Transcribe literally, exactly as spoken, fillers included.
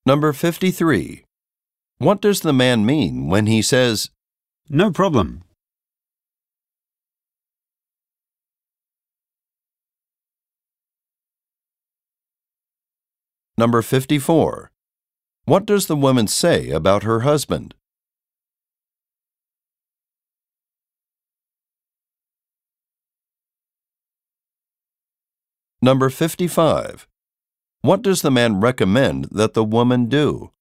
Number fifty-three. What does the man mean when he says, No problem. Number fifty-four. What does the woman say about her husband? Number fifty-five. What does the man recommend that the woman do?